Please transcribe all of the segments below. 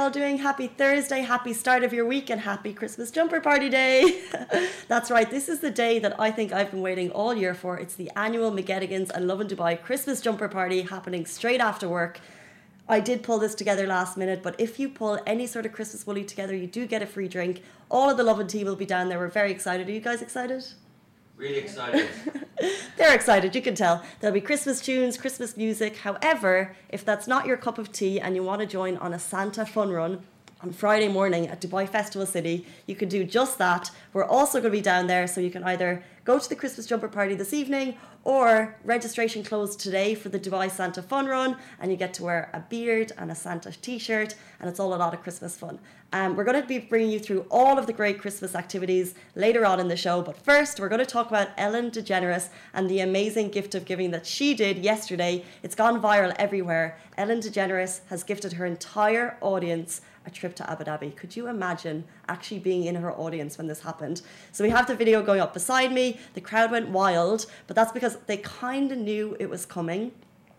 all doing? Happy Thursday, happy start of your week, and happy Christmas jumper party day. That's right, this is the day that I think I've been waiting all year for. It's the annual McGettigans and Lovin Dubai Christmas jumper party happening straight after work. I did pull this together last minute, but if you pull any sort of Christmas woolly together, you do get a free drink. All of the Lovin team will be down there. We're very excited. Are you guys excited? Really excited. They're excited, you can tell. There'll be Christmas tunes, Christmas music. However, if that's not your cup of tea and you want to join on a Santa fun run on Friday morning at Dubai Festival City, you can do just that. We're also going to be down there, so you can either go to the Christmas jumper party this evening, or registration closed today for the Dubai Santa Fun Run, and you get to wear a beard and a Santa t-shirt, and it's all a lot of Christmas fun. We're going to be bringing you through all of the great Christmas activities later on in the show, but first we're going to talk about Ellen DeGeneres and the amazing gift of giving that she did yesterday. It's gone viral everywhere. Ellen DeGeneres has gifted her entire audience a trip to Abu Dhabi. Could you imagine actually being in her audience when this happened? So we have the video going up beside me. The crowd went wild, but that's because they kind of knew it was coming.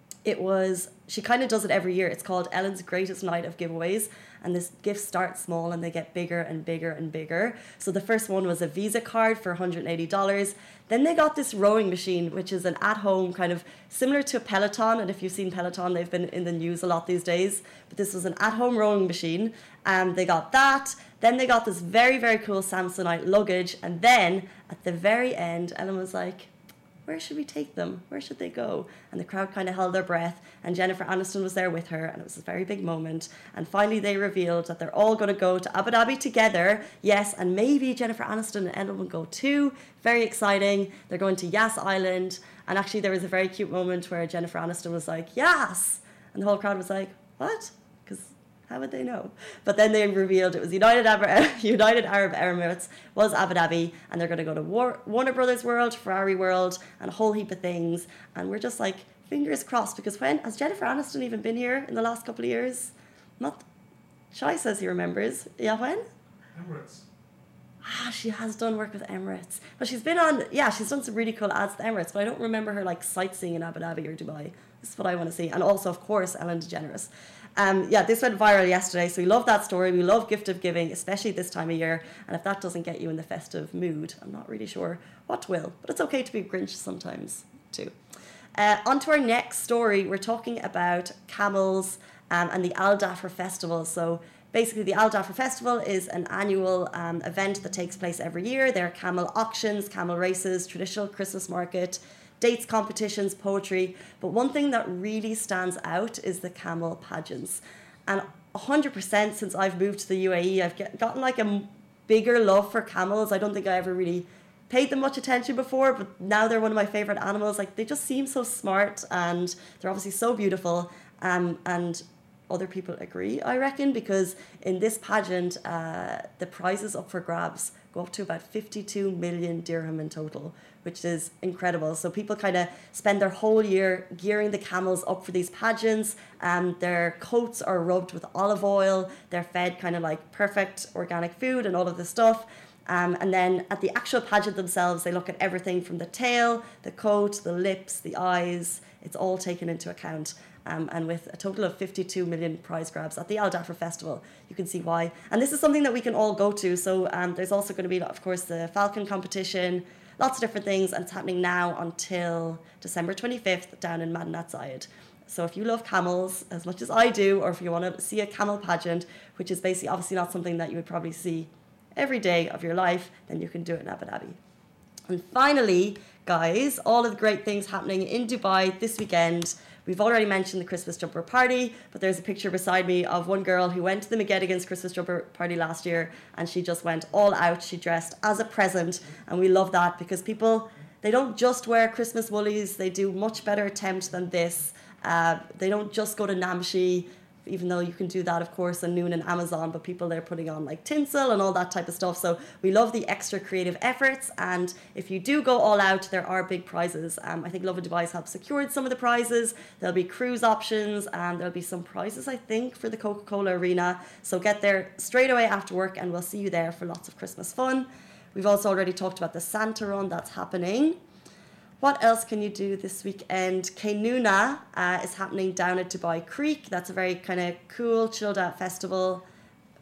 She kind of does it every year. It's called Ellen's Greatest Night of Giveaways, and this gifts start small and they get bigger and bigger and bigger. So the first one was a Visa card for $180. Then they got this rowing machine, which is an at-home kind of similar to a Peloton, and if you've seen Peloton, they've been in the news a lot these days, but this was an at-home rowing machine. They got that. Then they got this very, very cool Samsonite luggage, and then at the very end, Ellen was like, where should we take them? Where should they go? And the crowd kind of held their breath, and Jennifer Aniston was there with her, and it was a very big moment. And finally they revealed that they're all going to go to Abu Dhabi together. Yes, and maybe Jennifer Aniston and Ellen will go too. Very exciting. They're going to Yas Island, and actually there was a very cute moment where Jennifer Aniston was like, Yas! And the whole crowd was like, what? Because how would they know? But then they revealed it was United Arab Emirates was Abu Dhabi, and they're going to go to Warner Brothers World, Ferrari World, and a whole heap of things. And we're just like, fingers crossed, because has Jennifer Aniston even been here in the last couple of years? Not. Shai says he remembers. Yeah, when? Emirates. She has done work with Emirates. But she's done some really cool ads to Emirates, but I don't remember her like sightseeing in Abu Dhabi or Dubai. This is what I want to see. And also, of course, Ellen DeGeneres. This went viral yesterday, so we love that story. We love gift of giving, especially this time of year. And if that doesn't get you in the festive mood, I'm not really sure what will. But it's okay to be Grinch sometimes, too. On to our next story. We're talking about camels and the Al Dhafra Festival. So basically, the Al Dhafra Festival is an annual event that takes place every year. There are camel auctions, camel races, traditional Christmas market, dates, competitions, poetry. But one thing that really stands out is the camel pageants. And 100% since I've moved to the UAE, I've gotten like a bigger love for camels. I don't think I ever really paid them much attention before, but now they're one of my favorite animals. Like, they just seem so smart, and they're obviously so beautiful. And other people agree, I reckon, because in this pageant, the prizes up for grabs go up to about 52 million dirham in total, which is incredible. So people kind of spend their whole year gearing the camels up for these pageants. Their coats are rubbed with olive oil. They're fed kind of like perfect organic food and all of this stuff. And then at the actual pageant themselves, they look at everything from the tail, the coat, the lips, the eyes. It's all taken into account. And with a total of 52 million prize grabs at the Al Dhafra Festival, you can see why. And this is something that we can all go to. So there's also going to be, of course, the Falcon competition, lots of different things, and it's happening now until December 25th down in Madinat Zayed. So if you love camels as much as I do, or if you want to see a camel pageant, which is basically obviously not something that you would probably see every day of your life, then you can do it in Abu Dhabi. And finally, guys, all of the great things happening in Dubai this weekend. We've already mentioned the Christmas jumper party, but there's a picture beside me of one girl who went to the McGettigans Christmas jumper party last year, and she just went all out. She dressed as a present, and we love that because people, they don't just wear Christmas woolies, they do much better attempt than this. They don't just go to Namshi, even though you can do that, of course, on Noon and Amazon, but people, they're putting on like tinsel and all that type of stuff. So we love the extra creative efforts, and if you do go all out, there are big prizes. I think Lovin Dubai has helped secured some of the prizes. There'll be cruise options, and there'll be some prizes, I think, for the Coca-Cola Arena. So get there straight away after work, and we'll see you there for lots of Christmas fun. We've also already talked about the Santa Run that's happening. What else can you do this weekend? Kaynuna is happening down at Dubai Creek. That's a very kind of cool, chilled out festival.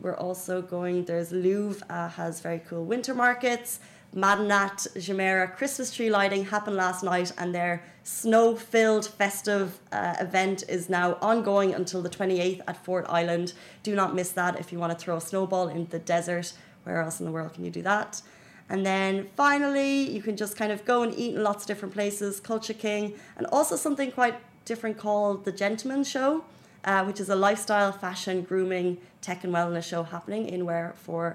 We're also going, there's Louvre has very cool winter markets. Madinat Jumeirah Christmas tree lighting happened last night, and their snow-filled festive event is now ongoing until the 28th at Fort Island. Do not miss that if you want to throw a snowball in the desert. Where else in the world can you do that? And then finally, you can just kind of go and eat in lots of different places. Culture King, and also something quite different called The Gentleman's Show, which is a lifestyle, fashion, grooming, tech and wellness show happening in Warehouse 4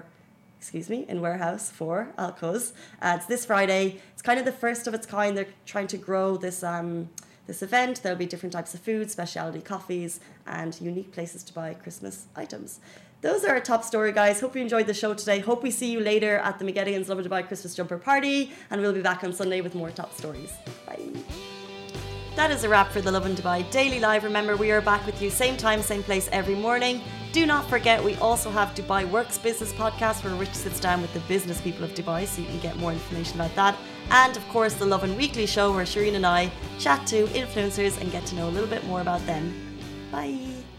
Alcos. It's this Friday. It's kind of the first of its kind. They're trying to grow this this event. There'll be different types of food, specialty coffees, and unique places to buy Christmas items. Those are our top story, guys. Hope you enjoyed the show today. Hope we see you later at the McGettigans Lovin Dubai Christmas Jumper Party, and we'll be back on Sunday with more top stories. Bye. That is a wrap for the Lovin Dubai Daily Live. Remember, we are back with you same time, same place every morning. Do not forget, we also have Dubai Works Business Podcast, where Rich sits down with the business people of Dubai, so you can get more information about that. And of course, the Lovin Weekly Show, where Shireen and I chat to influencers and get to know a little bit more about them. Bye.